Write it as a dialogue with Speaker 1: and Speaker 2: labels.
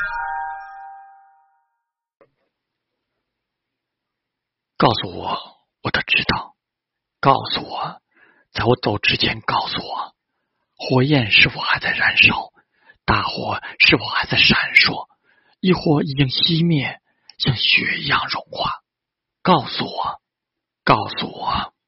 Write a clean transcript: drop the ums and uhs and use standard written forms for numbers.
Speaker 1: 告诉我我的知道，告诉我，在我走之前告诉我，火焰是否还在燃烧，大火是否还在闪烁，亦或已经熄灭，像雪一样融化。告诉我，告诉我。